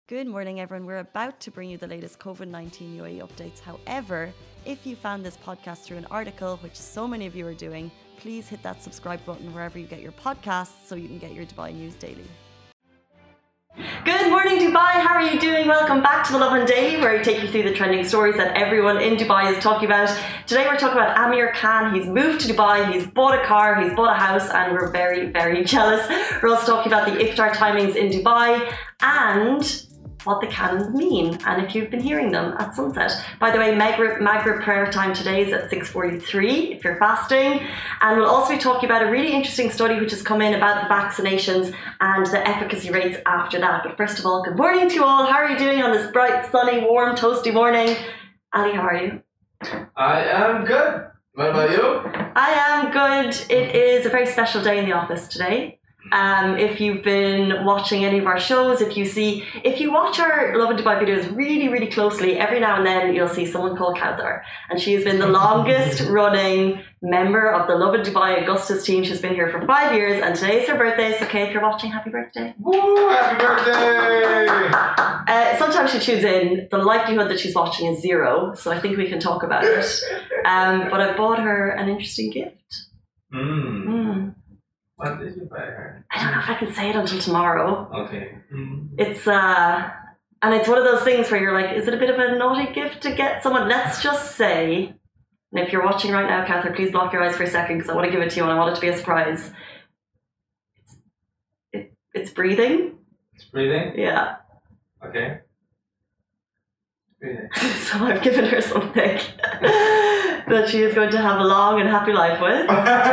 Good morning, everyone. We're about to bring you the latest COVID-19 UAE updates. However, if you found this podcast through an article, which so many of you are doing, please hit that subscribe button wherever you get your podcasts so you can get your Dubai news daily. Good morning, Dubai. How are you doing? Welcome back to the Lovin Daily, where we take you through the trending stories that everyone in Dubai is talking about. Today we're talking about Amir Khan. He's moved to Dubai, he's bought a car, he's bought a house, and we're very, very jealous. We're also talking about the iftar timings in Dubai and what the canons mean, and if you've been hearing them at sunset. By the way, Maghrib prayer time today is at 6:43 if you're fasting, and we'll also be talking about a really interesting study which has come in about the vaccinations and the efficacy rates after that. But first of all, good morning to you all. How are you doing on this bright, sunny, warm, toasty morning? Ali, how are you? I am good. What about you? I am good. It is a very special day in the office today. If you've been watching any of our shows, if you watch our Lovin Dubai videos really, really closely, every now and then you'll see someone called Kauthar, and she has been the longest running member of the Lovin Dubai Augustus team. She's been here for 5 years, and today's her birthday. So, Kay, if you're watching, happy birthday. Woo, happy birthday! Sometimes she tunes in. The likelihood that she's watching is 0, so I think we can talk about it. But I bought her an interesting gift. What did you buy her? I don't know if I can say it until tomorrow. Okay. It's and it's one of those things where you're like, is it a bit of a naughty gift to get someone? Let's just say, and if you're watching right now, Kauthar, please block your eyes for a second because I want to give it to you and I want it to be a surprise. It's breathing. It's breathing? Yeah. Okay. Breathing. So I've given her something that she is going to have a long and happy life with.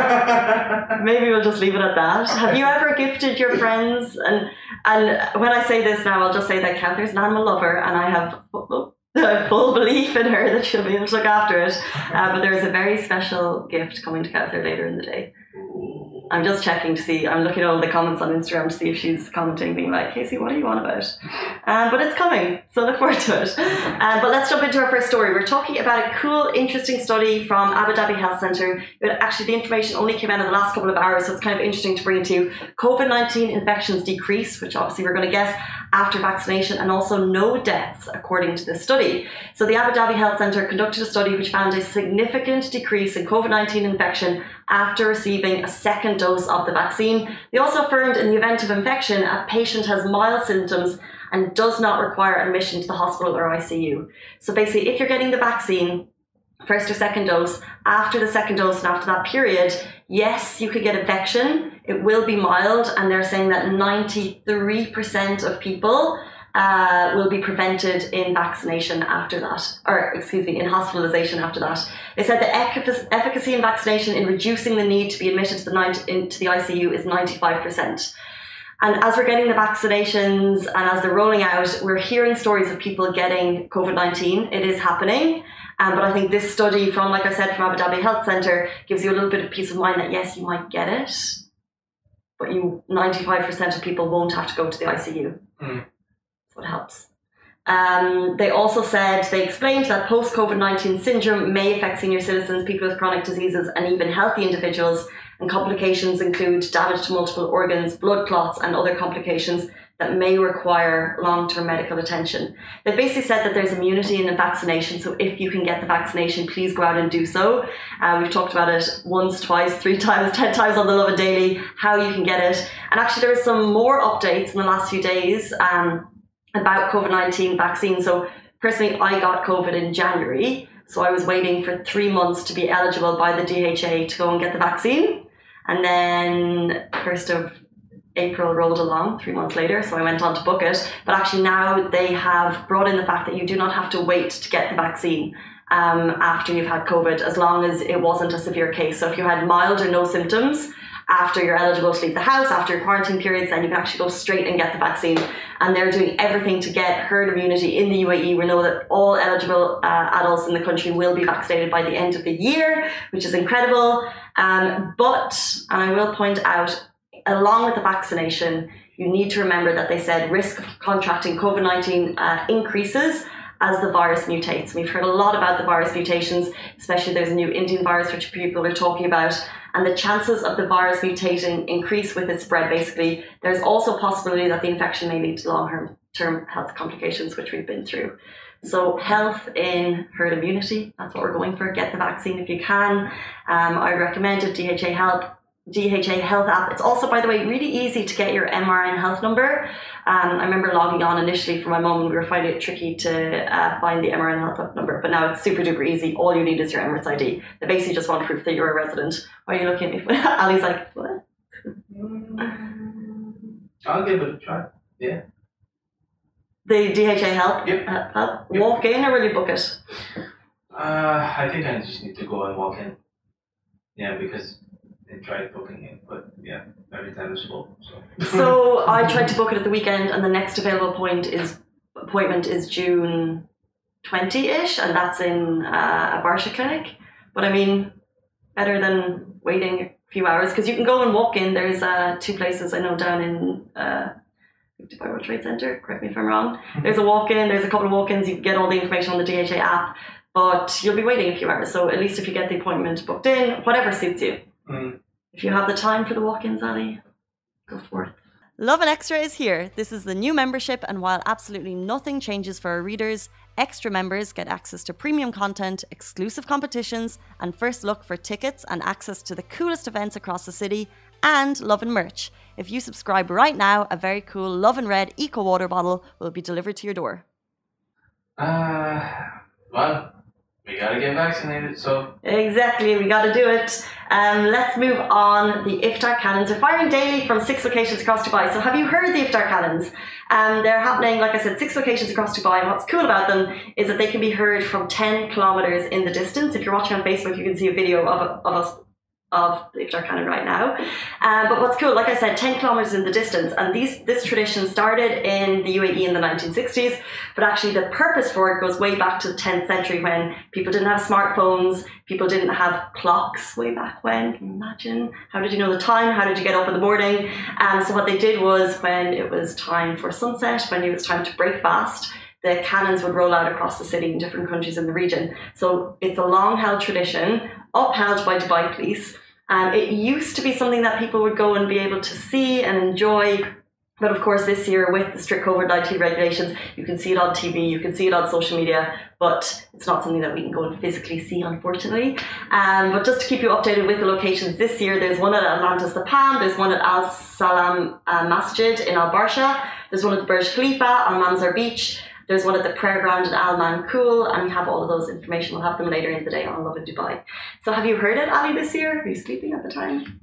Maybe we'll just leave it at that. Have you ever gifted your friends? And when I say this now, I'll just say that Kauthar's an animal lover, and I have full belief in her that she'll be able to look after it. But there is a very special gift coming to Kauthar later in the day. I'm just checking to see, I'm looking at all the comments on Instagram to see if she's commenting, being like, Casey, what are you on about? But it's coming, so look forward to it. But let's jump into our first story. We're talking about a cool, interesting study from Abu Dhabi Health Centre. Actually, the information only came out in the last couple of hours, so it's kind of interesting to bring it to you. COVID-19 infections decrease, which obviously we're going to guess, after vaccination, and also no deaths, according to this study. So the Abu Dhabi Health Centre conducted a study which found a significant decrease in COVID-19 infection after receiving a second dose of the vaccine. They also affirmed in the event of infection, a patient has mild symptoms and does not require admission to the hospital or ICU. So basically, if you're getting the vaccine, first or second dose, after the second dose and after that period, yes, you could get infection. It will be mild, and they're saying that 93% of people will be prevented in vaccination after that, in hospitalization after that. They said the efficacy in vaccination in reducing the need to be admitted into the ICU is 95%. And as we're getting the vaccinations and as they're rolling out, we're hearing stories of people getting COVID-19. It is happening. But I think this study from, like I said, from Abu Dhabi Health Centre gives you a little bit of peace of mind that yes, you might get it, but 95% of people won't have to go to the ICU. What helps. They also said, they explained that post-COVID-19 syndrome may affect senior citizens, people with chronic diseases, and even healthy individuals. And complications include damage to multiple organs, blood clots, and other complications that may require long-term medical attention. They basically said that there's immunity in the vaccination, so if you can get the vaccination, please go out and do so. We've talked about it once, twice, 3 times, 10 times on the Lovin Daily, how you can get it. And actually there are some more updates in the last few days about COVID-19 vaccine. So personally, I got COVID in January, so I was waiting for 3 months to be eligible by the DHA to go and get the vaccine. And then 1st of April rolled along 3 months later, so I went on to book it. But actually now they have brought in the fact that you do not have to wait to get the vaccine after you've had COVID, as long as it wasn't a severe case. So if you had mild or no symptoms after you're eligible to leave the house, after your quarantine periods, then you can actually go straight and get the vaccine. And they're doing everything to get herd immunity in the UAE. We know that all eligible adults in the country will be vaccinated by the end of the year, which is incredible. But I will point out, along with the vaccination, you need to remember that they said risk of contracting COVID-19 increases as the virus mutates. We've heard a lot about the virus mutations, especially there's a new Indian virus which people are talking about. and the chances of the virus mutating increase with its spread. Basically, there's also a possibility that the infection may lead to long-term health complications, which we've been through. So health in herd immunity, that's what we're going for. Get the vaccine if you can. I recommend it. DHA Health app. It's also, by the way, really easy to get your MRN health number. I remember logging on initially for my mum and we were finding it tricky to find the MRN health number, but now it's super duper easy. All you need is your Emirates ID. They basically just want proof that you're a resident. Why are you looking at me? Ali's like, what? I'll give it a try. Yeah. The DHA Help? Yep. Help? Walk in or will you book it? I think I just need to go and walk in. Yeah, because I tried booking it, but yeah, every time it's full. So I tried to book it at the weekend, and the next available appointment is June 20-ish, and that's in a Barsha clinic. But I mean, better than waiting a few hours, because you can go and walk in. There's 2 places I know down in Dubai World Trade Center, correct me if I'm wrong. There's a walk-in, there's a couple of walk-ins, you can get all the information on the DHA app, but you'll be waiting a few hours. So at least if you get the appointment booked in, whatever suits you. If you have the time for the walk-ins, Ali, go for it. Lovin Extra is here. This is the new membership, and while absolutely nothing changes for our readers, extra members get access to premium content, exclusive competitions, and first look for tickets and access to the coolest events across the city, and Lovin merch. If you subscribe right now, a very cool Lovin Red Eco Water bottle will be delivered to your door. Well, we gotta get vaccinated, so... Exactly, we gotta do it. Let's move on. The iftar cannons are firing daily from 6 locations across Dubai. So have you heard the iftar cannons? They're happening, like I said, 6 locations across Dubai. And what's cool about them is that they can be heard from 10 kilometers in the distance. If you're watching on Facebook, you can see a video of the iftar cannon right now. But what's cool, like I said, 10 kilometers in the distance, and this tradition started in the UAE in the 1960s, but actually the purpose for it goes way back to the 10th century when people didn't have smartphones, people didn't have clocks way back when. Can you imagine? How did you know the time? How did you get up in the morning? So what they did was, when it was time for sunset, when it was time to break fast, the cannons would roll out across the city in different countries in the region. So it's a long-held tradition, upheld by Dubai Police. It used to be something that people would go and be able to see and enjoy. But of course, this year with the strict COVID-19 regulations, you can see it on TV, you can see it on social media, but it's not something that we can go and physically see, unfortunately. But just to keep you updated with the locations this year, there's one at Atlantis The Palm, there's one at Al Salam Masjid in Al Barsha, there's one at the Burj Khalifa on Manzar Beach, there's one at the prayer ground at Al Mankool, and we have all of those information. We'll have them later in the day on Lovin Dubai. So have you heard it, Ali, this year? Were you sleeping at the time?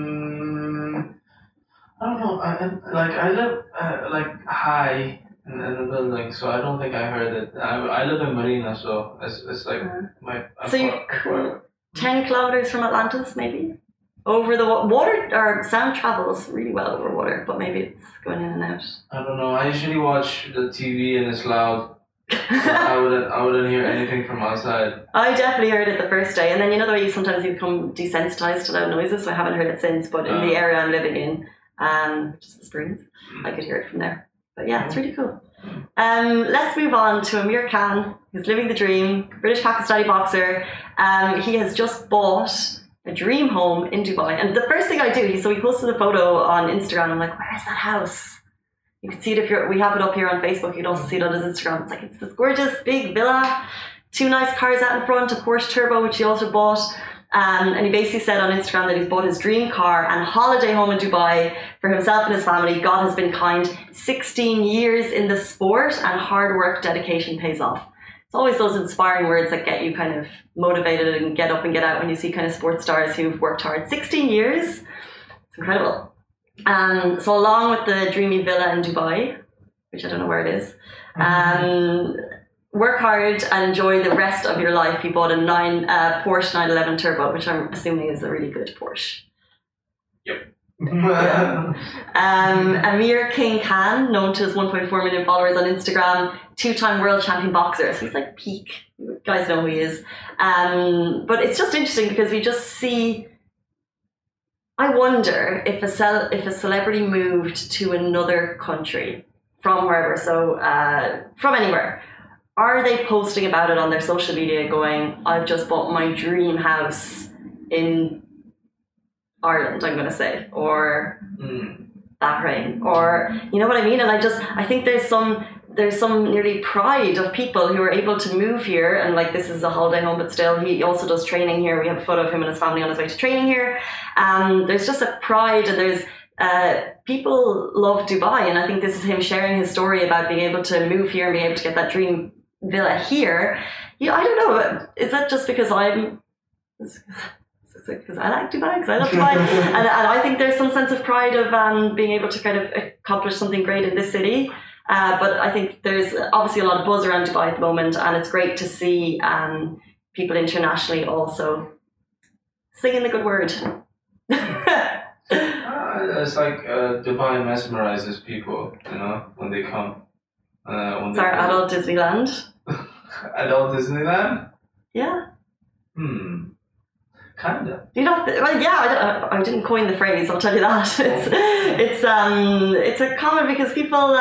I don't know. I live high in the building, so I don't think I heard it. I live in Marina, so it's like So you're 10 kilometers from Atlantis, maybe? Over the water, or sound travels really well over water, but maybe it's going in and out. I don't know. I usually watch the TV and it's loud. I wouldn't hear anything from outside. I definitely heard it the first day, and then you know the way sometimes you become desensitized to loud noises, so I haven't heard it since, but in the area I'm living in, which is the Springs, I could hear it from there. But yeah, it's really cool. Let's move on to Amir Khan, who's living the dream, British Pakistani boxer. He has just bought a dream home in Dubai, and the first thing I do, he posted a photo on Instagram. I'm like, where is that house? You can see it we have it up here on Facebook. You can also see it on his Instagram. It's this gorgeous big villa, 2 nice cars out in front, a Porsche Turbo, which he also bought. And he basically said on Instagram that he's bought his dream car and holiday home in Dubai for himself and his family. God has been kind. 16 years in the sport, and hard work, dedication pays off. It's always those inspiring words that get you kind of motivated and get up and get out when you see kind of sports stars who've worked hard. 16 years, it's incredible. So along with the dreamy villa in Dubai, which I don't know where it is, work hard and enjoy the rest of your life. He bought a Porsche 911 Turbo, which I'm assuming is a really good Porsche. Yep. Amir King Khan, known to his 1.4 million followers on Instagram, 2-time world champion boxer. So he's like peak. You guys know who he is. But it's just interesting because we just see, I wonder if a celebrity moved to another country from wherever, so from anywhere, are they posting about it on their social media going, I've just bought my dream house in Ireland, I'm going to say, or Bahrain, or you know what I mean. And I think there's some nearly pride of people who are able to move here, and like this is a holiday home, but still he also does training here. We have a photo of him and his family on his way to training here. There's just a pride, and there's people love Dubai, and I think this is him sharing his story about being able to move here and being able to get that dream villa here. Yeah, I don't know. Is that just because because I like Dubai, because I love Dubai, and I think there's some sense of pride of being able to kind of accomplish something great in this city. But I think there's obviously a lot of buzz around Dubai at the moment, and it's great to see people internationally also singing the good word. It's like Dubai mesmerizes people, when they come. It's our adult Disneyland. Adult Disneyland? Yeah. Kinda. You know, well, yeah. I didn't coin the phrase. I'll tell you that. It's a common because people.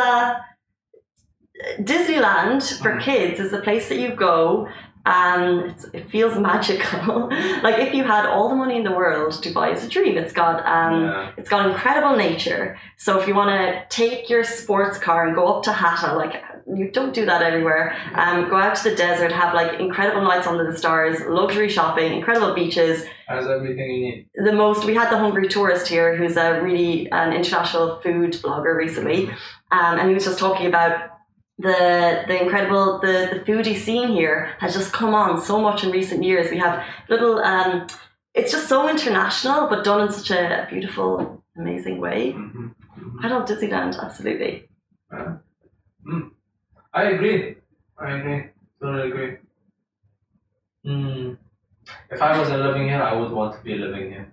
Disneyland for kids is the place that you go. It feels magical. Like if you had all the money in the world, Dubai is a dream. It's got incredible nature. So if you want to take your sports car and go up to Hatta, like you don't do that everywhere. Go out to the desert, have like incredible nights under the stars, luxury shopping, incredible beaches. Has everything you need. We had the Hungry Tourist here, who's an international food blogger recently, and he was just talking about the incredible the foodie scene here has just come on so much in recent years. We have little it's just so international, but done in such a beautiful, amazing way. I love Disneyland, absolutely. I agree. Totally agree. If I wasn't living here, I would want to be living here.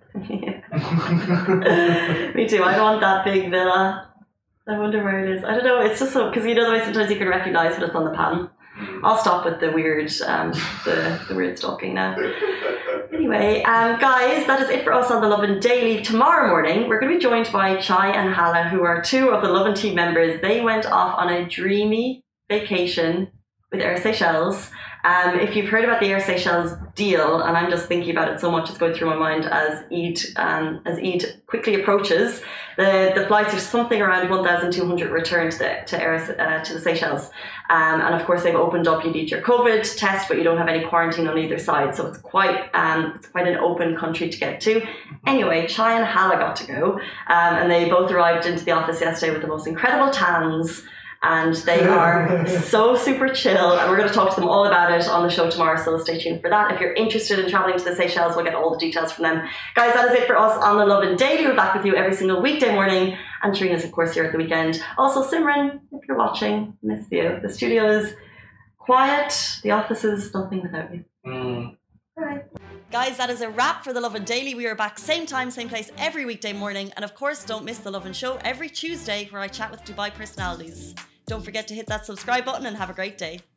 Me too. I want that big villa. I wonder where it is. I don't know. It's just so, because you know the way sometimes you can recognize when it's on the pan. I'll stop with the weird, the weird stalking now. Anyway, guys, that is it for us on the Lovin Daily. Tomorrow morning, we're going to be joined by Chai and Hala, who are two of the Lovin team members. They went off on a dreamy vacation with Air Seychelles. If you've heard about the Air Seychelles deal, and I'm just thinking about it so much, it's going through my mind as Eid quickly approaches. The flights are something around 1,200 return to the Seychelles, and of course they've opened up. You need your COVID test, but you don't have any quarantine on either side, so it's quite an open country to get to. Anyway, Chai and Hala got to go, and they both arrived into the office yesterday with the most incredible tans. And they are so super chill, and we're going to talk to them all about it on the show tomorrow, so stay tuned for that. If you're interested in travelling to the Seychelles, we'll get all the details from them. Guys, that is it for us on the Lovin Daily. We're back with you every single weekday morning, and Trina's of course here at the weekend. Also, Simran, if you're watching, miss you. The studio is quiet, the office is nothing without you. Alright. Guys, that is a wrap for the Lovin Daily. We are back same time, same place every weekday morning, and of course don't miss the Lovin Show every Tuesday where I chat with Dubai personalities. Don't forget to hit that subscribe button and have a great day.